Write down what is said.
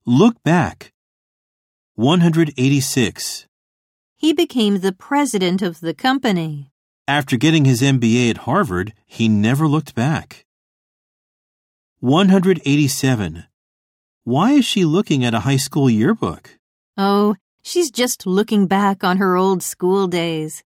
Look back. 186. He became the president of the company. After getting his MBA at Harvard, he never looked back. 187. Why is she looking at a high school yearbook? Oh, she's just looking back on her old school days.